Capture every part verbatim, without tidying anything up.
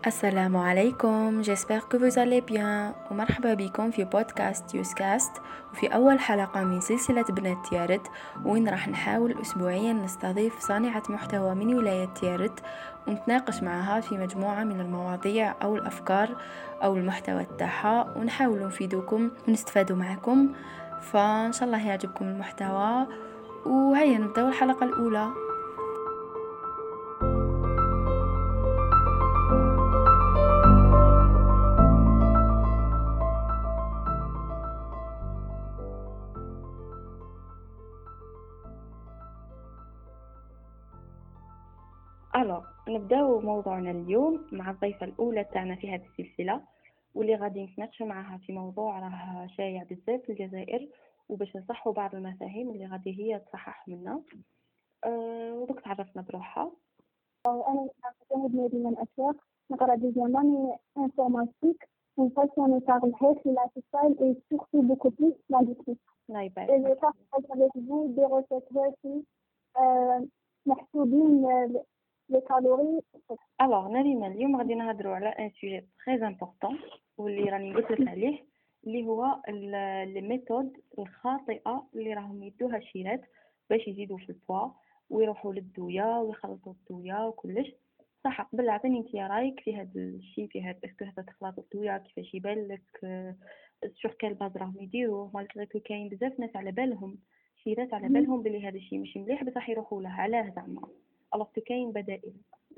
السلام عليكم. j'espère que vous allez bien ومرحبا بكم في بودكاست يوسكاست وفي أول حلقة من سلسلة بنات تيارت، وين راح نحاول أسبوعيا نستضيف صانعة محتوى من ولاية تيارت ونتناقش معها في مجموعة من المواضيع أو الأفكار أو المحتوى تاعها، ونحاول نفيدكم ونستفادوا معكم. فإن شاء الله يعجبكم المحتوى، وهيا نبدأ الحلقة الأولى. الو نبداو موضوعنا اليوم مع الضيفه الاولى تاعنا في هذه السلسله، واللي غادي نتناقشوا معها في موضوع راه شائع بزاف في الجزائر، وباش نصحوا بعض المفاهيم اللي غادي هي تصحح منا. أه ودوك تعرفنا بروحها. أنا أعتمد مدينة الأشواق، نقرأ ديزاين انفورماتيك ونفاسيوني par le health, le lifestyle et surtout beaucoup plus la nutrition. الله Et يبارك. je partage avec vous des recettes healthy euh, محسوبين les calories. الوغ نريم، اليوم غادي نهضروا على ان سوجي تري امبورطون واللي راني قلت لك عليه، اللي هو لي ميثود الخاطئه اللي راهم يدوها الشيرات باش يزيدوا في البوا ويروحوا للدويه ويخلطوا الدويه وكلش. صح، قبل عطيني انت رايك في هذا الشيء، في هذا اسكو هذا تخلط الدويه كيفاش يبان لك، سور كال باز راهم يديروه، مالغري كو كاين بزاف ناس على بالهم شيرات على بالهم بلي هذا الشيء ماشي مليح بصح يروحوا له. علاه زعما؟ الوغ كاين بدائل.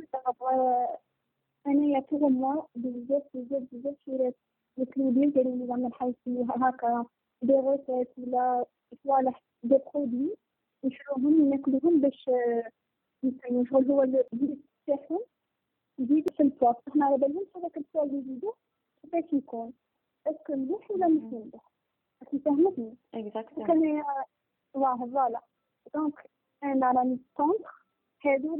أنا pour moi بزاف بزاف بزاف شيرات الكلودين ديالي اللي زعما بحال هكا دي ريسيت ولا صوالح دي برودوي نشروهم ناكلوهم باش يعني شغل هو اللي تاعهم يزيد في البوا. احنا على بالهم هذاك البوا اللي يزيدو كيفاش يكون، اسكو مليح ولا مش مليح، راكي فهمتني؟ اكزاكتلي. كان واه فوالا. دونك انا راني كونتر هادو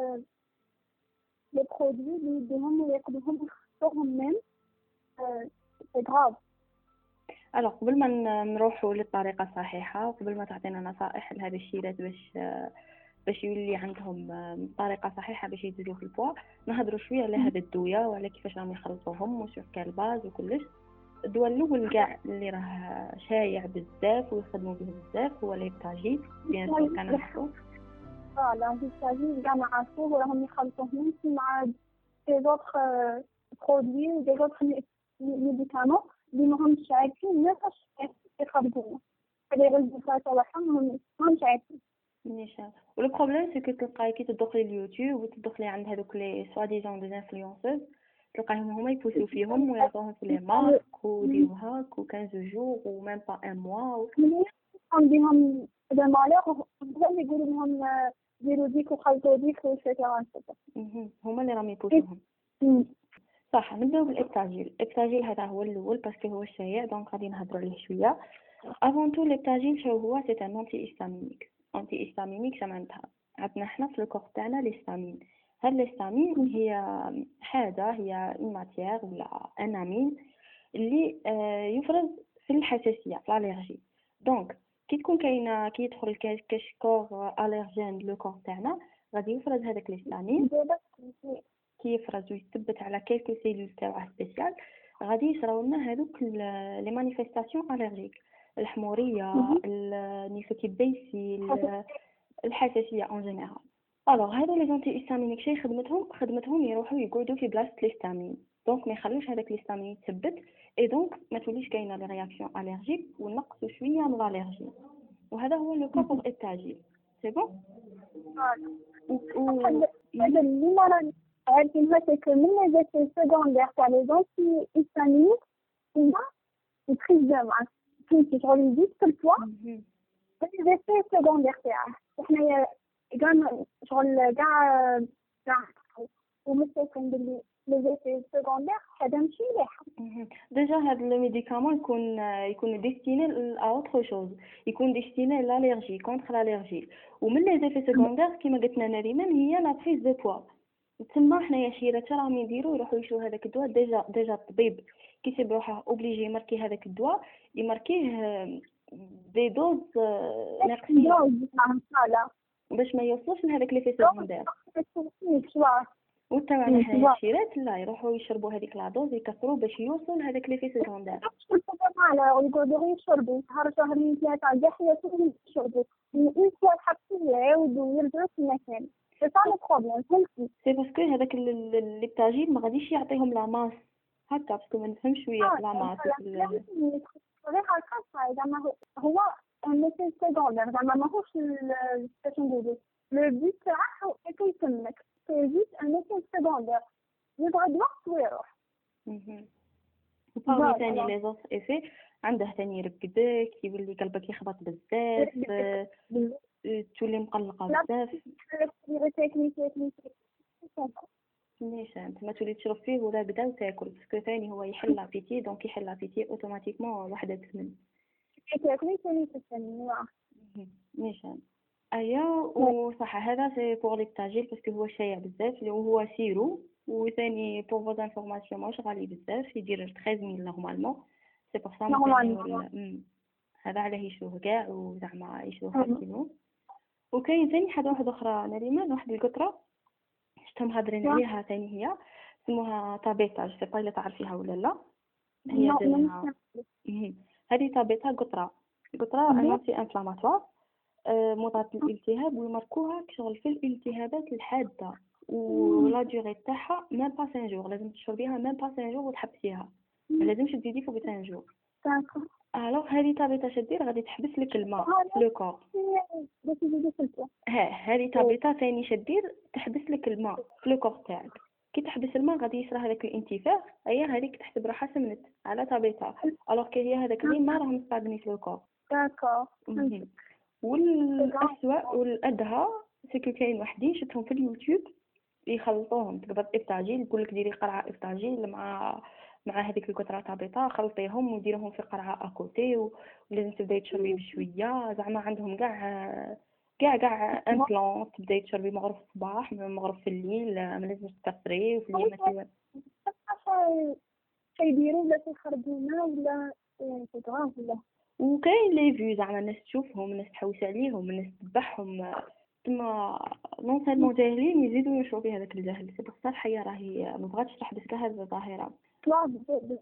لي برودوي اللي يديهم وياكلوهم ويخسروهم ميم. سي غراف. الوغ قبل ما نروحوا للطريقه الصحيحه وقبل ما تعطينا نصائح لهذا الشيرات باش باش يولي عندهم طريقه صحيحه باش يزيدوا في البوا، نهضروا شويه على هذا الدويه وعلى كيفاش راهم يخلطوهم وسور كالباز وكلش. الدواء الاول كاع اللي راه شايع بزاف ويخدموا به بزاف هو ليبتاجيل، بيان سور كنعرفوا. فوالا ليبتاجيل كاع نعرفوه وراهم يخلطوهم مع دي زوطخ برودوي ودي زوطخ ميديكامون اللي ماهمش عارفين نفاش يخرجونا هذي الريزلتات تاعهم ماهمش عارفين. نيشان. ولو بروبليم سي كو تلقاي كي تدخلي اليوتيوب وتدخلي عند هذوك لي سوا ديزون دي انفلونسوز تلقايهم هما يبوسوا فيهم ويعطوهم في لي مارك وديروا هاك و خمسطاش جور و ميم با ان موا. عندهم لو مالور بغاو يقولوا لهم ديروا ديك وخلطوا ديك وشكرا. هما اللي راهم يبوسوهم. صح. نبداو بالابتاجيل. الابتاجيل هذا هو الاول باسكو هو الشائع، دونك غادي نهضروا عليه شويه. افون تو الابتاجيل شنو هو؟ سي ان انتي هيستامينيك. انتي هيستامينيك شمعناتها عندنا حنا في الكور تاعنا ليستامين. هاد ليستامين هي حاجه، هي اون ماتيير ولا ان امين اللي آه يفرز في الحساسيه، في الالرجي. دونك كي تكون كاينه كي يدخل كشكور الرجين لو كور تاعنا غادي يفرز هذاك ليستامين، كي يفرز ويثبت على كيلكو سيلول تاعه سبيسيال، غادي يصراو لنا هذوك لي مانيفيستاسيون الرجيك، الحموريه، النيفو كيبيسي، الحساسيه اون جينيرال. الوغ هادو لي زونتي هيستامينيك شي خدمتهم خدمتهم يروحوا يقعدوا في بلاصه الهستامين، دونك ما يخلوش هذاك الهستامين يتثبت، اي دونك ما توليش كاينه لي رياكسيون الرجيك ونقصوا شويه من الالرجي. وهذا هو لو كا بور التاجيل. سي بون. هذا اللي ما راني عارفينها سي كو من لي زيفي سيكوندير تاع لي زونتي هيستامينيك هما البريز دو ماس كي شغل يزيد في البوا. لي زيفي سيكوندير تاعه حنايا كاع شغل كاع كاع ومستيقن باللي لي زيفي سيكوندير هذا ماشي مليح. ديجا هاد لو ميديكامون يكون يكون ديستيني ا اوتر شوز، يكون ديستيني لالرجي كونتر الالرجي. ومن لي زيفي سيكوندير كيما قلتنا نريمان هي لا بريز دو بوا. تما حنايا شيرات راهم يديروا يروحوا يشروا هذاك الدواء. ديجا ديجا الطبيب كيسيب روحه اوبليجي يماركي هذاك الدواء، يماركيه دي دوز ناقصين باش باش ما يوصلش لهذاك لي في سيكوندير. شوار وتبع على الشيرات لا يروحوا يشربوا هذيك لادوز يكثروا باش يوصل هذاك لي في سكوندير. على يقعدوا يشربوا شهر شهرين ثلاثة كاع حياتهم يشربوا اون فوا حبسوا يعاودوا يرجعوا في المكان. سي با لو بروبليم فهمتي. سي باسكو هذاك لي بتاجيل ما غاديش يعطيهم لا ماس هكا باسكو ما نفهمش شويه لا ماس غير هكا زعما هو ماشي سكوندير زعما ماهوش باش نديرو لو بوت تاعو هو يتمك سي جوست ان ميساج سكوندير يبغى الوقت ويروح. وبارمي ثاني لي زوس ايفي عنده ثاني يرقدك يولي قلبك يخبط بزاف تولي مقلقه بزاف نيشان ما تولي تشرب فيه ولا بدا وتاكل باسكو ثاني هو يحل لابيتي دونك يحل لابيتي اوتوماتيكمون وحده تسمن تاكلي ثاني تسمن نيشان ايا. وصح هذا سي بور لي بتاجيل باسكو هو شايع بزاف اللي هو سيرو وثاني بور فوز انفورماسيون ماهوش غالي بزاف يدير ثلاثة عشر نورمالمون سي بور سا نورمالمون هذا عليه يشوه كاع وزعما يشوه كيلو. وكاين ثاني حاجه واحده اخرى نريمان واحد القطره شفتهم هادرين عليها ثاني هي اسمها تابيتا جو سي با الا تعرفيها ولا لا. هي هذه تابيتا قطره قطره انتي انفلاماتوار مضاد للالتهاب ويماركوها كشغل في الالتهابات الحاده ولا ديوري تاعها ميم با خمسة جور لازم تشربيها ميم با خمسة جور وتحبسيها ما لازمش تزيدي فوق خمسة جور. الوغ هذه تابيتا شدير غادي تحبس لك الماء في لو كور. ها هذه تابيتا ثاني شدير تحبس لك الماء في لو كور تاعك. كي تحبس الماء غادي يصرى هذاك الانتفاخ ايا هذيك تحسب روحها سمنت على تابيتا الوغ كي هي هذاك اللي ما راهم مصابني في لو كور. داكور. والأسوأ والأدهى سكو كاين وحدين شفتهم في اليوتيوب يخلطوهم تقدر افطاجيل يقول لك ديري قرعه افطاجيل مع مع هذيك الكتره تابيطه خلطيهم وديرهم في قرعه اكوتي ولازم تبداي تشربي بشويه زعما عندهم كاع كاع كاع ان بلان تبداي تشربي مغرب في الصباح مغرب في الليل ما لازمش تكثري وفي الليل ما تيوان كيديروا ولا تخرجونا ولا فوتوغراف ولا. وكاين لي فيو زعما الناس تشوفهم الناس تحوس عليهم الناس تذبحهم تما نون سالمون جاهلين يزيدوا ينشروا في هذاك الجهل. سي بصح الحياه راهي ما بغاتش تحبس لها هذه الظاهره. طلاب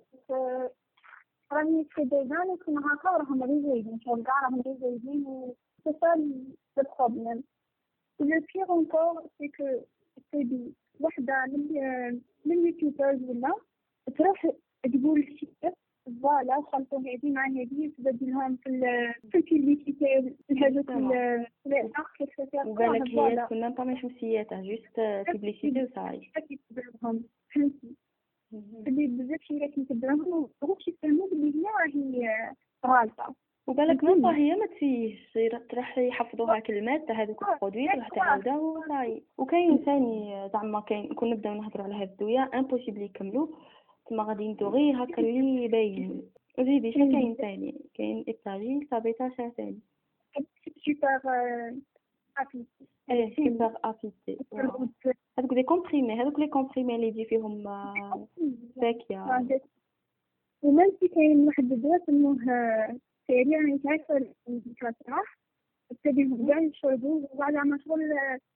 راني في ديزان كنا هكا راهم ريزيدين شغل كاع راهم ريزيدين و سي سا لو بروبليم. لو بيغ انكور سي كو سي وحده من من اليوتيوبرز ولا تروح تقول شي فوالا خلطوا هذه مع هذه تبدل لهم في في البيبليسيتي هذوك الاخر كيفاش وبالك هي كنا با مش مسياتها جوست بيبليسيتي وصاي كيتبعوهم فهمتي اللي بزاف شي راكي كيتبعوهم ومش يفهموا بلي هي راهي غالطه. وبالك ما هي ما تفيش تروح يحفظوها كلمات تاع هذوك البرودوي تروح تعاودها وصاي. وكاين ثاني زعما كاين كون نبداو نهضروا على هاد الدويه امبوسيبل يكملوا ما غادي ندوغي هكا اللي باين. وزيدي شنو كاين ثاني كاين التاجيل تابيتا ثاني سوبر ابيتي ايه سوبر ابيتي هذوك لي كومبريمي هذوك لي كومبريمي اللي يجي فيهم ساكيه. ومن في كاين واحد الدواء اسمه سريع يعني تعرف الكاتراح تبيهم كاع يشربوه وبعد ما شغل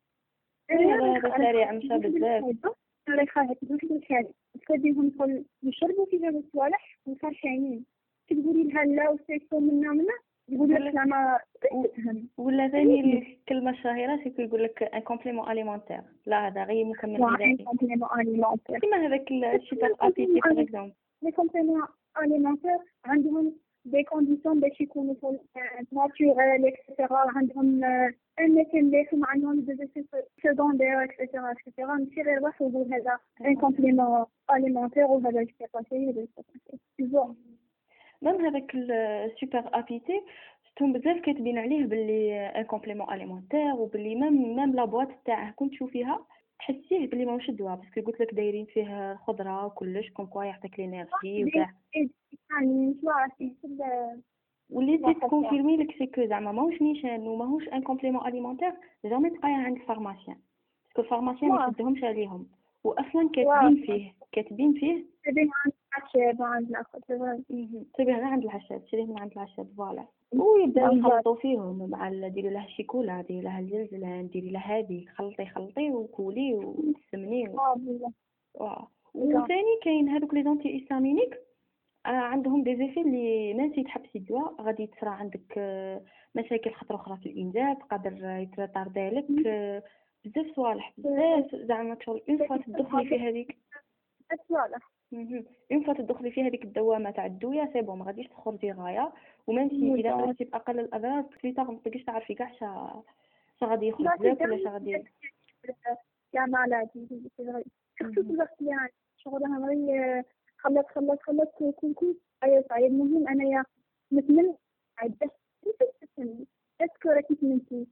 هذا سريع مشى بزاف ريحة واحد الحاجة تخليهم يدخل يشربوا فيها الصوالح وفرحانين تقولي لها لا وسيكو منا منا يقولوا لك لا ما تفهم. ولا ثاني الكلمة الشهيرة سيكو يقول لك ان كومبليمون اليمونتير لا هذا غير مكمل غذائي كومبليمون اليمونتير كيما هذاك الشيبر ابيتي باغ اكزومبل. لي كومبليمون اليمونتير عندهم دي كونديسيون باش يكونوا ناتوريل اكسيتيرا عندهم ان مليح عندهم دي سكوندير اكسيتيرا اكسيتيرا ماشي غير واحد يقول هذا ان كومبليمون اليمونتير وهذا يصير باسي هذا يصير ميم هذاك السوبر ابيتي شفتهم بزاف كاتبين عليه باللي ان كومبليمون اليمونتير وباللي ميم ميم لا بواط تاعه كنت تشوفيها تحسيه باللي ماهوش دواء باسكو قلت لك دايرين فيه خضره وكلش كوم كوا يعطيك لينيرجي وكاع يعني شو عرفتي واللي تي كونفيرمي لك سي كو زعما ماهوش نيشان وماهوش ان كومبليمون اليمونتير جامي تلقايه عند الفارماسيان باسكو الفارماسيان ما يشدهمش عليهم واصلا كاتبين فيه كاتبين فيه تبين عند العشاب عند الأخر تبين تبين غير عند العشاب، تشريه من عند العشاب فوالا، ويبداو يخلطوا فيهم مع ديري له الشيكولا، ديري له الجلجلان، ديري له هذه، خلطي خلطي وكولي وتسمني و... وثاني كاين هذوك لي زونتي هيستامينيك آه عندهم دي زيفي اللي ما نسيت تحبسي الدواء غادي تصرى عندك آه مشاكل خطره اخرى في الانجاب، قادر يترطر لك آه بزاف صوالح بزاف زعما شغل اون فوا تدخلي في هذيك صوالح اون فوا تدخلي في هذيك الدوامه تاع الدويه سي بون ما غاديش تخرجي غايه، ومنتي اذا خرجتي باقل الاضرار بليطار ما تبقيش تعرفي كاع شا شا غادي يخرج لك ولا شا غادي يا مالاتي سي فري سورتو الوقت اللي عندي شغلها غير خلص خلص خلص كل كل أي صعيب. المهم أنا يا مثل عدة تسمي أذكر كيف منتي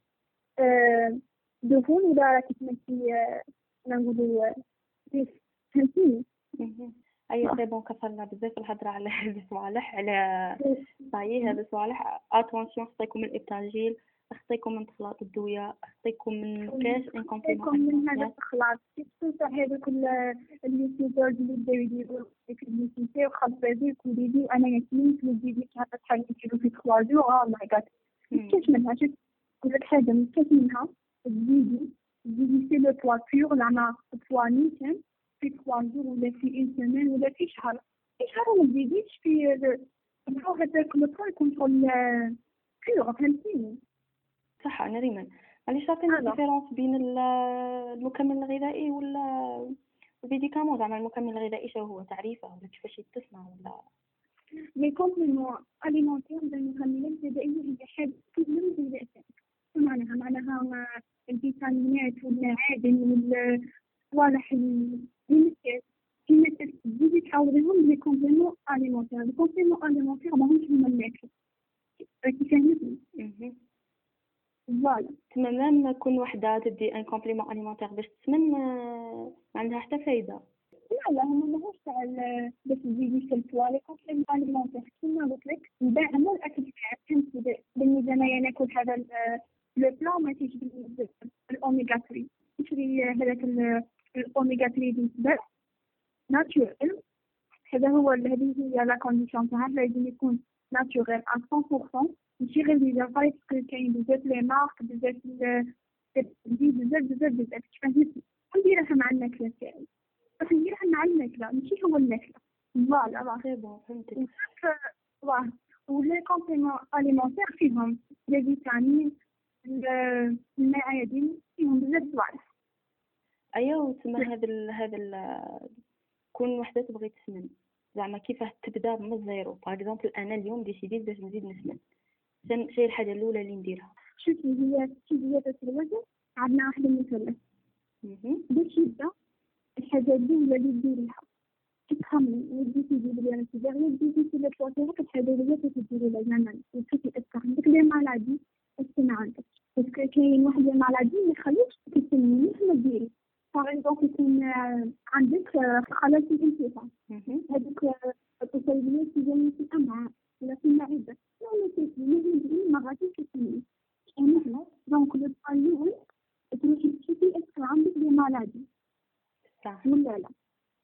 دهون ولا كيف منتي نقولوا كيف فهمتيني. أي سي بون كفرنا بزاف الهضرة على هذا الصوالح على صحيح هذا الصوالح. اتونسيون خصيكم من الابتاجيل، خصيكم من خلاط الدويه، خصيكم من كاش ان كومبليمون من هذا الخلاط كيف هذوك اليوتيوبرز اللي بداو يديروا ديك البيسيتي وخلط هذيك وديدي وانا ياسمين في الفيديو تاع شحال نديرو في ثلاث جور او ماي جاد كاش منها شفت نقول لك حاجه من كاش منها تزيدي تزيدي سي لو بوا بيور زعما بوا نيشان في ثلاث جور ولا في ان سيمين ولا في شهر في شهر ما تزيديش في البوا هذاك لو بوا يكون شغل بيور فهمتيني. صح انا ريمان معليش عطينا الديفيرونس بين المكمل الغذائي ولا الفيديكامون زعما المكمل الغذائي شنو هو تعريفه ولا كيفاش يتصنع ولا لي كومبليمون اليمونتير زي المكملات الغذائيه هي حاجه كلهم زي الاساس معناها معناها الفيتامينات والمعادن والصوالح اللي كيما تزيدي تحاوليهم لي كومبليمون اليمونتير. لي كومبليمون اليمونتير ماهمش هما الماكله راكي فاهمتني. فوالا تما ميم كون وحده تدي ان كومبليمون اليمونتير باش تسمن ما عندها حتى فايده. لا لا هما ماهوش تاع باش تزيدي في البوا. لي كومبليمون اليمونتير كيما قلت لك نباع مو الاكل تاعك فهمتي بالنسبه انا ناكل هذا لو بلان ما تيجي الاوميغا ثلاثة تشري هذاك الاوميغا ثلاثة بالنسبه ناتشورال. هذا هو هذه هي لا كونديسيون تاعها لازم يكون ناتشورال مية بالمية ماشي غير لي جافايت كاين بزاف لي مارك بزاف بزاف بزاف بزاف بزاف فهمتي. نديرها مع الماكله تاعي راح نديرها مع الماكله ماشي هو الماكله. فوالا سي بون فهمتك. واه ولي كومبليمون اليمونتير فيهم لي فيتامين المعادن فيهم بزاف صوالح. ايوا تما هذا هذا كون وحده تبغي تسمن زعما كيفاه تبدا من الزيرو. باغ اكزومبل انا اليوم ديسيديت باش نزيد نسمن شنو هي الحاجه الاولى اللي نديرها؟ شوفي هي زيادة الوزن عندنا واحد المثلث باش يبدا الحاجه الاولى اللي ديريها تفهمي ودي تجيبي لي انا تجيبي دي في البروتين الحاجه اللي تديري لها زعما وتشوفي اسكو عندك لي مالادي اسكو ما عندك باسكو كاين واحد لي مالادي ما يخليكش تسمني ما ديري. باغ اكزومبل يكون عندك خلل في الانتفاع هذوك التصيبيات تجيني في الامعاء ولا في المعده لا تسمي ما غاديش تسمي مثلا دونك لو الاول تروحي تشوفي اسكو عندك لي مالادي صح ولا لا.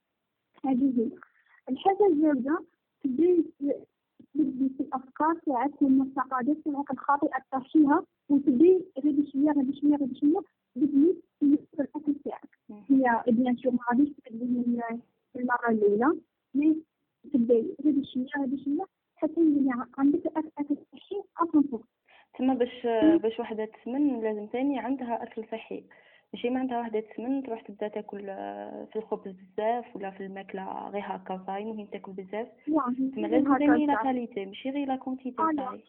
هذه هي الحاجه الزوجه تبدي تبدي في الافكار تاعك والمعتقدات تاعك الخاطئه تطرحيها وتبدي غير بشويه غير بشويه غير بشويه تبدي في الاكل تاعك. هي بيان سور ما غاديش تبدي من المره الاولى مي تبدي غير بشويه غير بشويه حتى يولي عندك اكل صحي اصلا. تما باش باش وحده تسمن لازم ثاني عندها اكل صحي ماشي ما عندها وحده تسمن تروح تبدا تاكل في الخبز بزاف ولا في الماكله غير هكا صاي مهم تاكل بزاف. تما لازم ثاني لا كاليتي ماشي غير لا كونتيتي صاي.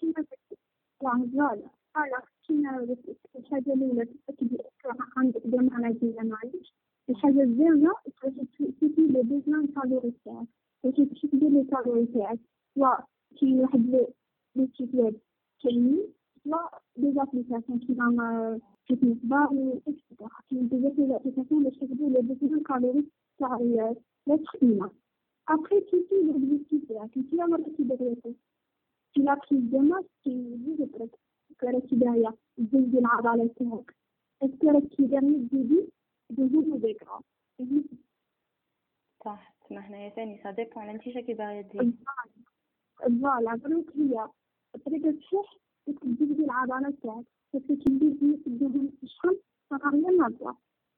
فوالا فوالا كيما الحاجه الاولى تاكدي عندك دم مالادي ولا ما عندكش. الحاجه الزوجه تروحي تشوفي لي بيزان كالوري تاعك تروحي تشوفي لي كالوري تاعك سواء كاين واحد لي سيت ويب كاينين سواء دي زابليكاسيون كيما فيتنس بار اكسترا كاين بزاف ديال الابليكاسيون باش تحسبوا لي بيزان كالوري تاع لا تخميمه. ابخي تشوفي لوبجيكتيف تاعك انت يا مرة تبغيتي في لا بريز دو ماس كيزيد برك راكي دايره تزيدي العضلات تاعك اسكو راكي دايره تزيدي دهون وذكرى. صح ما هنايا ثاني سا ديبون على انت شكي باغي تزيد. فوالا دروك هي طريقة الشح تبدي في العضلات تاعك بس تبدي تديهم الشحم فغير نظرة.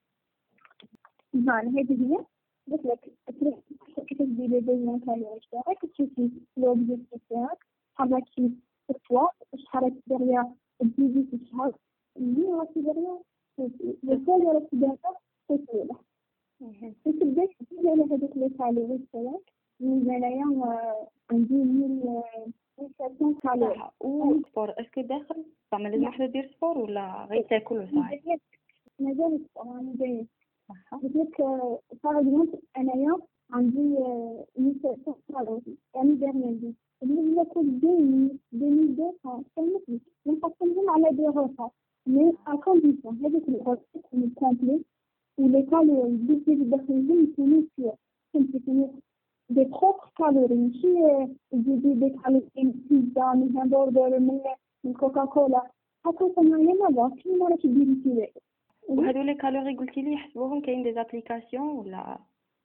فوالا هذه هي قلت لك كيف تبدي بين الكالوريز تاعك تشوفي لوبجيكتيف تاعك حركي الفوا شحال دريا تزيدي في الشهر اللي راكي دريا الكالوري راكي دريا تسويله تبدا تزيد على هذوك لي كالوريز تاعك من انايا عندي مية مية كالوري. صح. والسبور اسكو داخل زعما لازم وحده دير سبور ولا غير تاكل وصاي؟ مازال السبور انا جاي قلت لك باغ انايا عندي مية كالوري يعني دايرين اللي ناكل بين بين دوسا كامل نقسمهم على دي غرفات مي ا كونديسيون هذيك الغرفات كومبليت ولي كالوري اللي داخلين يكونوا فيه يكونوا دي بروبر كالوري ماشي تزيدي دي كالوري من بيتزا من همبرجر من من كوكاكولا هكا تمايا ما كي ما راكي ديري فيه. وهذو لي كالوري قلتي لي يحسبوهم كاين دي زابليكاسيون ولا؟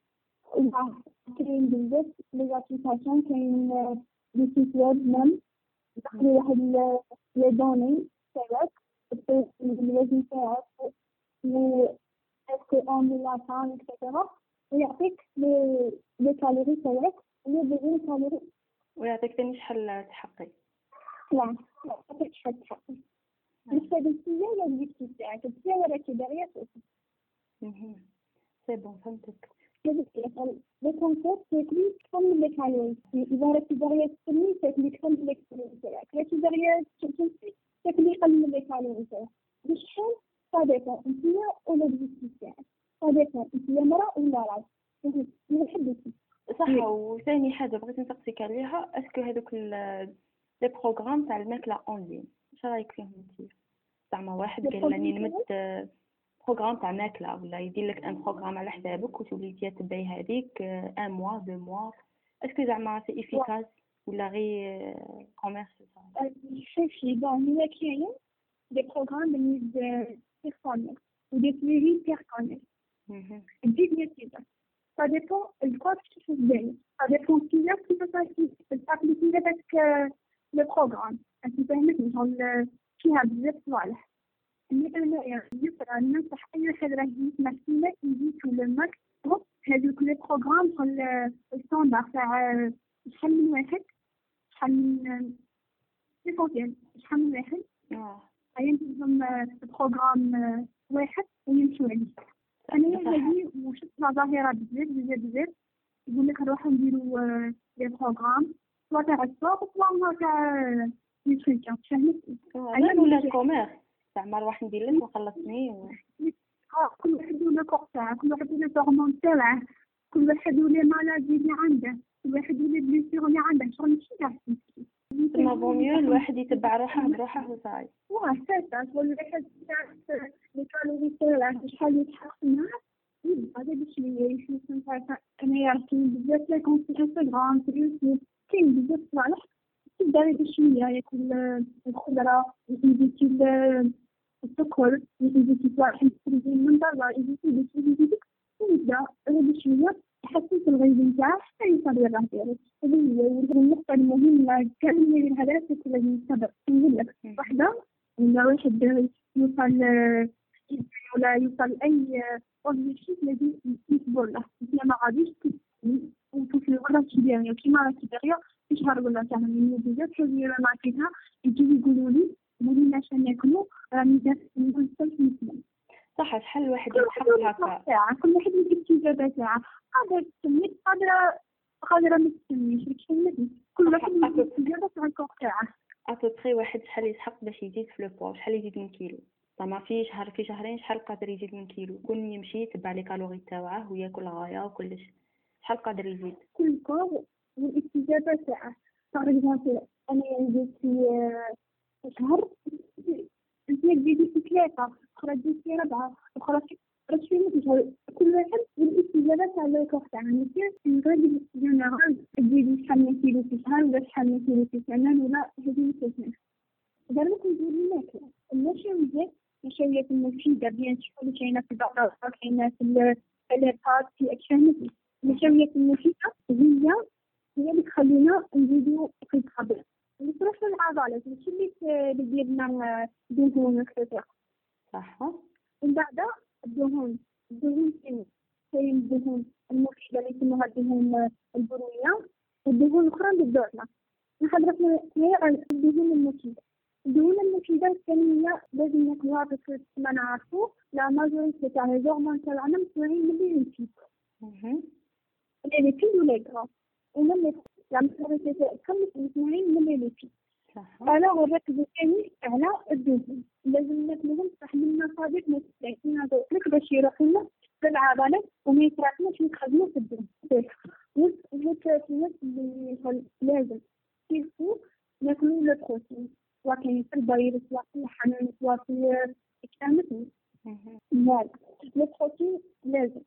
كاين بزاف لي زابليكاسيون كاين دي سيت ويب ميم تدخلي واحد لي دوني تاعك الوزن تاعك و اسكو اون لا فان اكسيتيرا ويعطيك لي لي كالوري تاعك لي بيجي كالوري ويعطيك ثاني شحال تحقي. لا يعطيك شحال تحقي مش هذا الشيء ولا الويكتي تاعك انت وراكي داغيا اها سي بون فهمتك. لي كونسيبت تاكلي تكمل لي كالوري اذا راكي داغيا تسمي تاكلي تكمل لي كالوري تاعك راكي داغيا تمشي تاكلي قلل لي كالوري تاعك بشحال صديقة انت ولا الويكتي تاعك صديقة انت مرأة ولا راجل نحبك. صح. وثاني حاجه بغيت نسقسيك عليها اسكو هذوك لي بروغرام تاع الماكله اونلاين اش رايك فيهم انت؟ زعما واحد قال لي نمد بروغرام تاع ماكله ولا يدير لك ان بروغرام على حسابك وتولي تبعي هذيك ان موا دو موا اسكو زعما سي افيكاس ولا غير كوميرس؟ شوفي بون هي كاين دي بروغرام بالنسبه بيرسونيل ودي سويفي بيرسونيل الديفينيتيف ça dépend de quoi tu fais bien. Ça dépend qui est qui va t'appliquer avec le programme. انت فاهمتني شغل فيها بزاف صوالح. اللي انا يعني يقرا ننصح اي واحد راه يسمع فينا يجيو للماك هذوك لي بروغرام الستاندار تاع شحال من واحد شحال من ليسونسيال شحال من واحد اه ينتظم بروغرام واحد ويمشوا عليه. انا هذه وشفتها ظاهره بزاف بزاف بزاف يقول لك نروحو نديرو لي بروغرام سوا تاع السوق سوا تاع نيوتريسيون فهمتي. انا ولا كوميرس زعما نروح ندير لك وخلصني و... كل واحد له كور تاعه كل واحد له هرمون تاعه كل واحد له مالادي اللي عنده كل واحد له بليسيور اللي عنده شغل ماشي تاع ما بونيو الواحد يتبع روحه بروحه وصاي. واه ساعه تقول واحد تاع لي كالوري تاعه شحال يتحقق معاه هذا بشويه يشوف انا يعرفين بزاف لي كونت في انستغرام في يوتيوب كاين بزاف صالح تبدا بشويه ياكل الخضره يزيد السكر يزيد واحد من برا يزيد يزيد ويبدا بشويه يحسن في الغذاء نتاعه حتى يوصل للراه ديالو. هذه هي النقطه المهمه كان من الهدف لازم الصبر. نقول لك واحده ولا واحد يوصل ولا يوصل اي اوبجيكتيف لازم يصبر له ما غاديش وتوصل لغرض كبير كيما راكي داغيا في شهر ولا تعمل لي بزاف حاجه ما عرفتها يجيو يقولوا لي قولوا لنا شنو ناكلوا راني درت نقول لكم صح. شحال الواحد يتحقق هكا كل واحد يدير الاستجابه تاعه قادر تسمي قادره قادره ما تسميش فهمتي كل واحد يدير الاستجابه تاع الكور تاعه. ابوبري واحد شحال يسحق باش يزيد في لو بوا شحال يزيد من كيلو زعما في شهر في شهرين شحال قادر يزيد من كيلو كون يمشي يتبع لي كالوري تاعه وياكل غايه وكلش شحال قادر يزيد كل كور والاستجابه تاعه. باغ اكزومبل انا زدت في شهر زيد زيد في ثلاثه اخرى زيد في ربعه اخرى راه شويه مثل كل واحد والاستجابه تاع الكور تاعه ماشي نقول جينيرال تزيد شحال من كيلو في شهر ولا شحال من كيلو في سنه ولا هذه مثلا دابا كندير الماكله النشويات النشويات المفيده بيان سور كاينه في البقره كاينه في البات في اكشن النشويات المفيدة هي هي اللي تخلينا نزيدو في الطبيعة، اللي تروح للعضلات ماشي اللي ت- اللي ديالنا دهون وكذا. صح. ومن بعد الدهون الدهون كاين كاين الدهون المفيدة اللي يسموها الدهون البنية، والدهون الأخرى اللي بدورنا. نحضر في على الدهون المفيدة. الدهون المفيدة الثانية لازم ناكلوها بس كما نعرفو لا ماجوريتي تاع لي زورمون تاعنا مصنوعين من لي ليبيد. مهم. لي ليبيد ولا غرا ومن لا ماجوريتي تاعهم مصنوعين من لي ليبيد. صح. أنا نركزو ثاني على الدهون، لازم ناكلوهم صح من مصادر متعددة هذوك باش يروحولنا في العضلات وما يتراكموش ويتخزنوا في الدم. والثلاثيات اللي لازم كيفو ناكلو البروتين، سواء كاين في البيض سواء في اللحم سواء في الكامل. مهم. فوالا البروتين لازم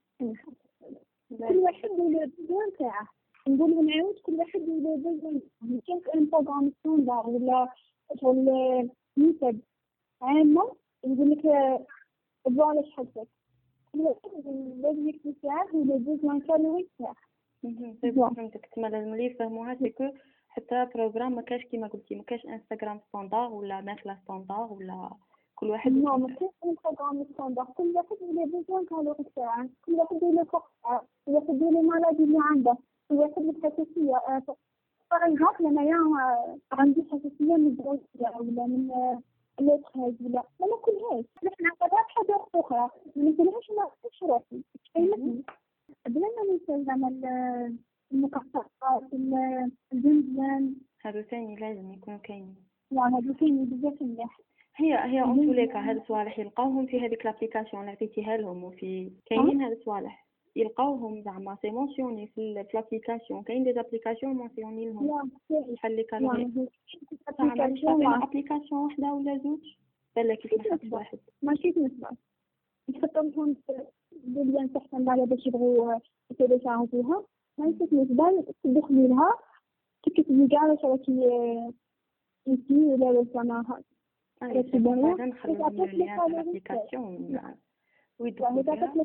كل واحد له البيزون تاعه. نقول ونعاود كل واحد له البيزون. كاين ان بروغرام ستاندار ولا شغل نسب عامة نقول لك فوالا شحال تاكل. كل واحد لازم يكتب تاعه وله البيزون كالوري تاعه. مهم. فهمتك. تما لازم لي يفهموها سكو حتى بروغرام ما كاش كيما قلتي ما كاش انستغرام ستاندار ولا ماكله ستاندار ولا كل واحد. نو ما كاينش ان بروغرام ستاندار. كل واحد له البيزون كالوري تاعه، كل واحد له الفقر تاعه، كل واحد له المرض اللي عنده، كل واحد له الحساسية. باغ اكزومبل انايا عندي حساسية من الزيت ولا من الوتخاز ولا ما ناكلهاش. حنا نعتبرها حاجة أخرى ما ناكلهاش وما نعرفش روحي. فهمتني؟ بلا ما ننسى زعما المكسرات الزنجان هادو ثاني لازم يكونوا كاينين. يعني هادو كاينين بزاف مليح. هي هي اون توليكا هاد الصوالح يلقاوهم في هذيك لابليكاسيون اللي عطيتيها لهم، وفي كاينين هاد الصوالح يلقاوهم زعما سي مونسيوني في لابليكاسيون. كاين دي ابليكاسيون مونسيوني لهم شحال لي كالوري. صح ما عرفتش ابليكاسيون وحده ولا زوج بلا كيف نحط واحد ماشي نسبة نحطهم باللي تحسن على باش يبغوا يتيليشارجوها. ماشي نسبة تدخلي لها تكتبي كاع واش راكي انتي ولا واش زعما راكي باغا نخليهم ليا في الابليكاسيون ويدخلوا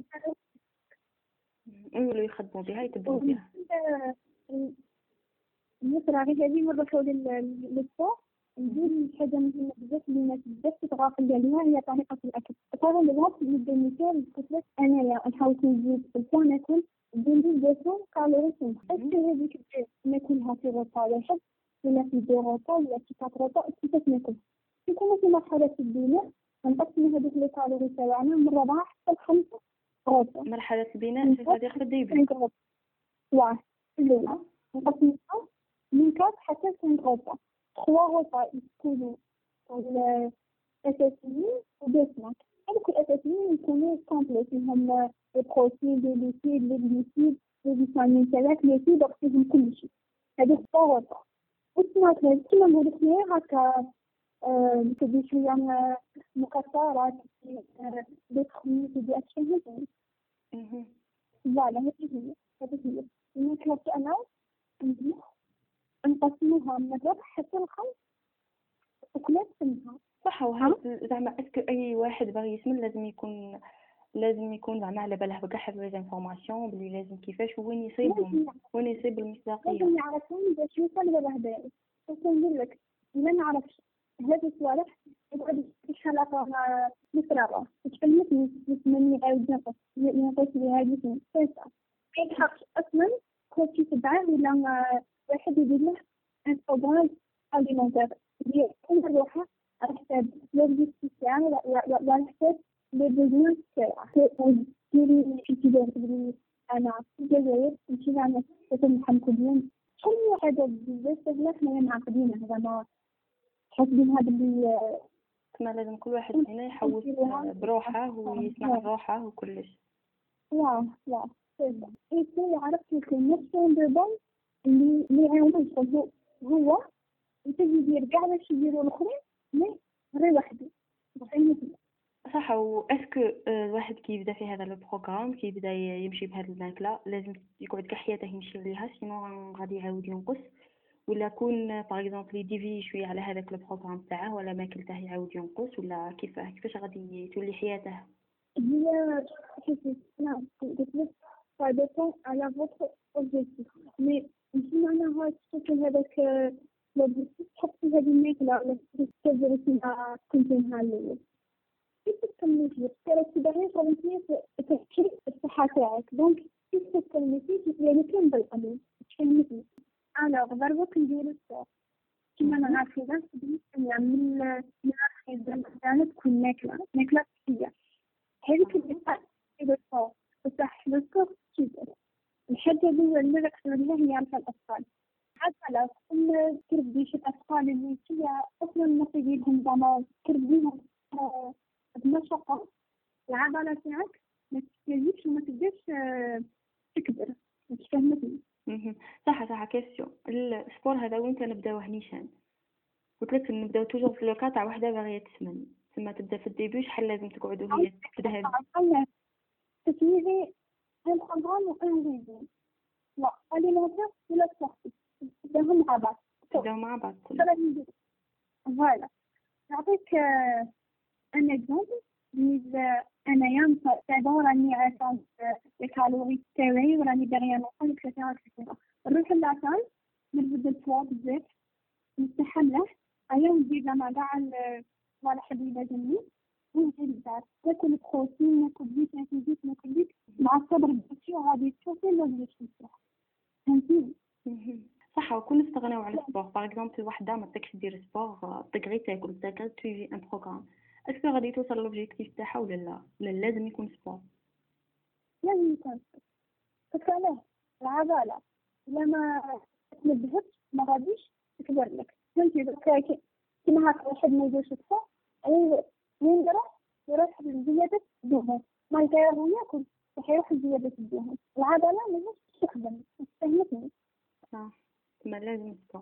يقولوا يخدموا بها يتبعوا بها. مثلا غير هذه مرة حول للسوق نقول حاجة مهمة بزاف اللي الناس بزاف تتغافل عليها هي طريقة الأكل. طبعا الوقت نبدا مثال قلت لك أنايا نحاول نزيد البوا ناكل بين دوسون كالوري سنة. أسكو هذيك ناكلها في غطا واحد ولا في دو غطا ولا في كات غطا كيفاش ناكل؟ يكون في مرحلة البناء نقسم هذوك لي كالوري تاعنا من ربعة حتى لخمسة غطا. مرحلة البناء هذه في الديبي. واه الأولى نقسمها من كات حتى لخمسة غطا. trois repas يكونوا الأساسيين ودسمات. هذوك الأساسيين يكونوا كومبليت فيهم البروتين لي ليبيد لي غليسيد لي فيتامين ثلاث لي فيبر فيهم كل شيء. هذوك trois repas. والسمات كيما نقول لك هكا تدي شوية مكسرات دي خميس دي أشياء هذي. فوالا هذه هي هذه هي الماكلة أنا نقسموها من الربع حتى الخمس وكلات سنها. صح. وهذا زعما اسكو اي واحد باغي يسمن لازم يكون لازم يكون زعما على باله بكاع هاد لي انفورماسيون بلي لازم كيفاش وين يصيبهم وين يصيب المصداقيه. لازم يعرفون باش يوصل للهدايا. بس نقول لك ما نعرفش هذه الصوالح يقعد يشحلها مفرغة تكلمتني مني عاود نقص نقص لي هذه السنة أي حق أصلا كل شيء تبعه ولا واحد يدير له ان بروغرام أليمونتير ديال كل روحه على حساب لوجيستيك تاعو وعلى حساب لي بوزوان تاعو. ديري شي تدير تقولي أنا في الجزائر نمشي نعمل نحن كلين شحال من حاجة بزاف سهلة حنايا معقدينها زعما حاسبين هذا اللي كما لازم كل واحد فينا يحوس بروحه ويسمع روحه وكلش. واه واه إيه عرفت الكونيكشن دابا اللي اللي يعاونوا هو هو يتجي يدير كاع باش يديروا الاخرين مي غير وحده. صح. واسكو الواحد كي يبدا في هذا البروغرام كي يبدا يمشي بهذه الماكله لازم يقعد كاع حياته يمشي ليها سينو غادي يعاود ينقص ولا كون باغ اكزومبل يديفي شويه على هذاك البروغرام تاعه ولا ماكلته يعاود ينقص ولا كيفاه كيفاش غادي تولي حياته. هي حسيت انا قلت لك ça dépend à votre objectif. Mais si معناها تشوفي هذاك l'objectif تحطي هذه الماكلة ولا تبدأي فيها كنت نهار الأول. كيف تكملي فيه؟ ترى تبغي ترمتي تحكي الصحة تاعك. دونك كيف تكملي فيه؟ يعني كان بالقليل. تفهمتني؟ أنا ضربك ندير الصوت. كما أنا عارفة من من الأخير كانت تكون ماكلة ماكلة صحية. هذه كلها إذا الصوت بصح الصوت كذا. الحاجة اللي نركز عليها هي عارفة الأطفال. حتى لو كنا تربيش الأطفال اللي فيها أصلا ما تجيبهم زمان تربيهم بمشقة العضلة تاعك ما تستهلكش وما تقدرش تكبر. مش فاهمتني؟ صح صح. كيسيون السبور هذا وين كنبداوه نيشان؟ قلت لك نبداو توجور في لو كاع وحده باغيه تسمن ثم تبدا في الديبي شحال لازم تقعدوا هي تذهب تسميري ان بروغرام و ان ريزون لا اليمونتير ولا سبورتيف تبداهم مع بعض تبداو مع بعض. فوالا نعطيك ان اكزومبل. بالنسبه انايا مثلا راني عارفه الكالوري تاعي وراني باغيه نوصل لكثيرا كثيرا. نروح للاصال نبدا الفوا بزاف نستحمله ايا ندير مع كاع ولا حبيبه جميل ونجي للدار ناكل بروتين ناكل زيت ناكل زيت ناكل زيت مع الصبر بزاف وغادي تشوفي لوجيش نصح. فهمتي؟ صح. وكل استغناو على السبور باغ اكزومبل وحده ما تقدرش دير سبور تقري تاكل تاكل تيجي ان بروغرام اسكو غادي توصل لوبجيكتيف تاعها ولا لا؟ ولا لازم يكون سبور؟ لازم يكون فكرة العضلة لما تنبهش ما غاديش تكبر لك. فهمتي؟ دوكا كيما هكا واحد ما يديرش سبور اي وين يروح يروح لزيادة الدهون ما يقدر ياكل يروح لزيادة الدهون. العضلة ماهيش تخدم. فهمتني؟ صح. ما لازم سبور.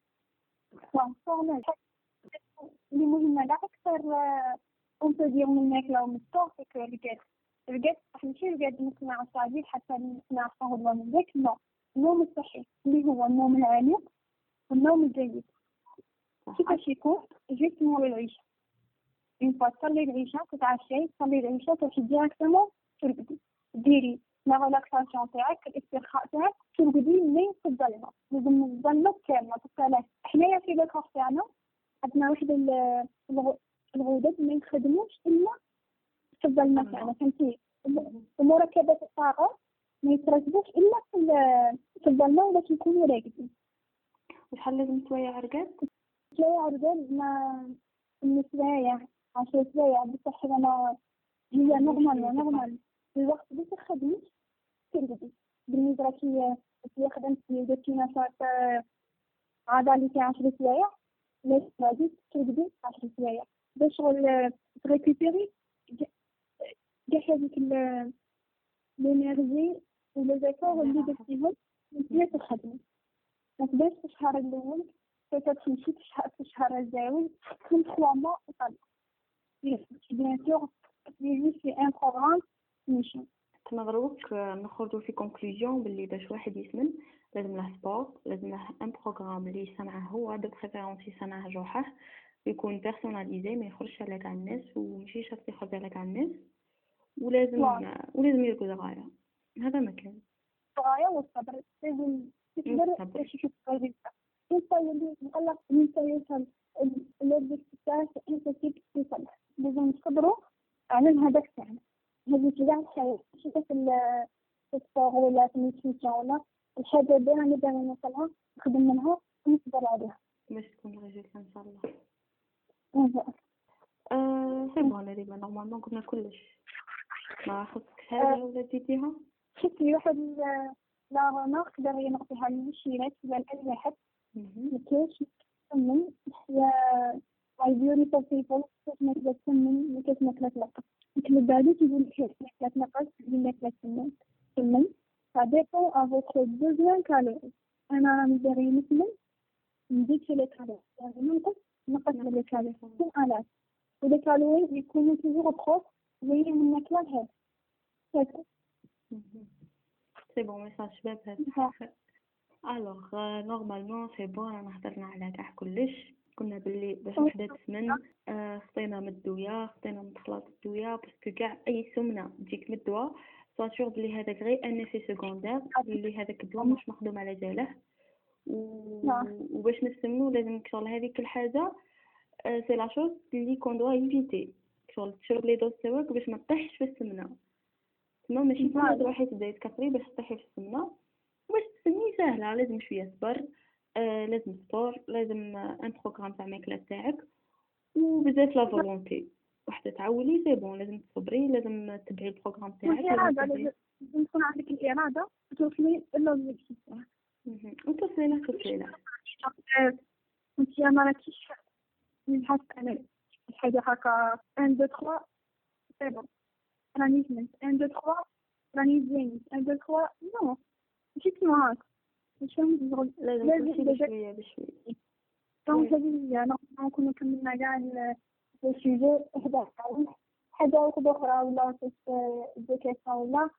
صح صح. اللي مهمة لا أكثر أون تدير من الماكلة ومن السبور فيك رقاد رقاد صح ماشي رقاد نقنع صعيب حتى نقنع صهود من ذاك. لا النوم الصحي اللي هو النوم العميق والنوم الجيد. كيفاش يكون؟ جيت نور العيشة إن تصلي العشاء تتعشي تصلي العشاء تمشي ديريكتومون ترقدي ديري لا ريلاكساسيون تاعك الاسترخاء تاعك ترقدي من في الظلمة. لازم الظلمة كاملة تطلع. حنايا في الكور تاعنا عندنا واحد الغدد ما يخدموش إلا في الظلمة تاعنا. فهمتي؟ ومركبات الطاقة ما يتركبوش إلا في الظلمة ولا تكونوا راقدين. وشحال لازم سوايع رقاد؟ سوايع رقاد ما السوايع عشر سوايع بصح أنا هي نورمال نورمال الوقت اللي تخدمي ترقدي. بالنسبة كي كي خدمتي درتي نشاط عضلي تاع عشر سوايع لازم غادي ترقدي عشر سوايع باش شغل تريكوبيري كاع هذيك الانرجي ولا ذاكر اللي درتيهم وانتي تخدمي. ما تبداش في الشهر الاول تمشي في الشهر في الشهر الجاي كل ثلاث موا وطلع بيان سور تجي في ان بروغرام ماشي. كنضربوك نخرجوا في كونكلوزيون باللي باش واحد يسمن لازم له سبور لازم له ان بروغرام اللي يسمعه هو دو بريفيرونس يسمعه جوحه يكون بيرسوناليزي ما يخرجش على كاع الناس وماشي شرط يخرج على كاع الناس ولازم واو. ولازم يركز غاية. هذا ما كان غاية والصبر لازم تقدر باش تشوفي انت اللي مقلق انت يوصل الاوبجيكتيف تاعك انت كيف توصل. لازم تصبروا على الهدف تاعنا. هذه كاع الحياة ماشي في السبور ولا في النيوتريسيون ولا الحاجة اللي راني باغي نوصلها نخدم منها ونصبر عليها باش تكون الريزلت ان شاء الله. اها سي بون هذه نورمالمون قلنا كلش. ما خصك حاجة ولا زيديها؟ شفتي واحد لا روناق باغي نعطيها للمشيرات ولا لأي واحد مكاش تسمن يا I beautiful people كيف ما تسمن وكيف ما تلقى لكن بعد تقول كيف ما تلقى تقول لك تسمن تسمن ça dépend à votre besoin calorique. أنا راني باغي نسمن نزيد في الكالوري يعني ننقص نقص من الكالوري كل آلاف والكالوري يكونوا toujours proches زي من ناكلة هاد هكا. سي بون ميساج شباب هذا. الوغ نورمالمون سي بون انا هضرنا على كاع كلش. قلنا باللي باش وحده تسمن خطينا من الدويه خطينا من خلاط الدويه باسكو كاع اي سمنه تجيك من الدواء سوا سور بلي هذاك غير ان افي سكوندير اللي هذاك الدواء مش مخدوم على جاله وباش نسمنو لازم شغل هذيك الحاجه سي لا شوز اللي كون دوا ايفيتي شغل تشرب لي دوز تاعك باش ما تطيحش في السمنه تما ماشي كل تروحي تبداي تكثري باش تطيحي في السمنه باش تسمي سهله لازم شويه صبر آه لازم سبور لازم ان بروغرام تاع الماكله تاعك وبزاف لا فولونتي وحتى تعولي سي بون لازم تصبري لازم تتبعي البروغرام تاعك والإرادة لازم تكون عندك الإرادة توصلي للوبجيكتيف تاعك وتوصلي له توصلي له انتي ما راكيش نحس انا حاجه هكا واحد اثنين ثلاثة سي بون راني فهمت واحد اثنين ثلاثة راني زين واحد اثنين ثلاثة نو ماشي كيما هاك ماشي لازم تمشي بشويه بشويه دونك هذه انا نكون كملنا كاع السوجي حدا حاجه واحده اخرى ولا دي كيسيون ولا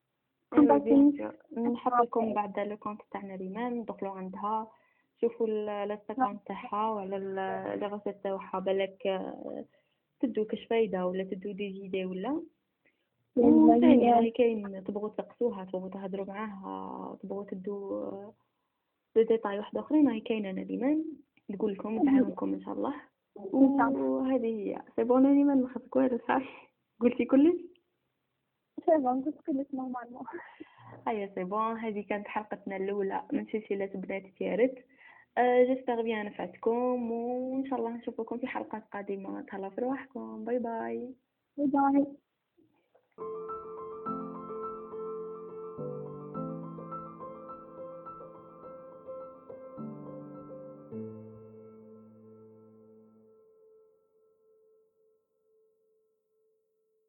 نحط لكم بعد لو كونت تاعنا ريمان دخلوا عندها شوفوا الانستغرام تاعها ولا لي ريسيت تاعها بالك تدو كاش فايده ولا تدو دي جيدي ولا ثاني راهي كاين تبغوا تقصوها تبغوا تهضروا معاها تبغوا تدو دي ديتاي واحد اخرين راهي كاينه انا ريمان نقول لكم تعاونكم ان شاء الله وهذه هي سي بون اني ما نخافك والو صافي قلتي كلش سي بون قلت كلش نورمالمون هيا سي بون هذه كانت حلقتنا الاولى من سلسله بنات تيارت أه جيسبر بيان نفعتكم وان شاء الله نشوفكم في حلقات قادمه تهلاو في رواحكم باي باي باي باي